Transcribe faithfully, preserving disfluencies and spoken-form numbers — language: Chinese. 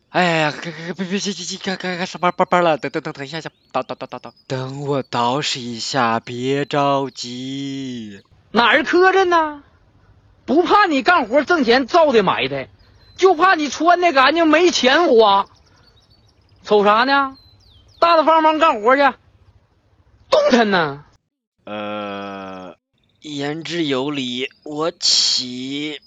哎呀，别别别别别别开开上班班班了，等等等等一下下，倒倒倒倒倒，等我捯饬一下，别着急。 哪儿磕碜呢？不怕你干活挣钱造的埋汰，就怕你穿的干净没钱花。瞅啥呢？大大方方干活去，动弹呢。 呃，言之有理，我起。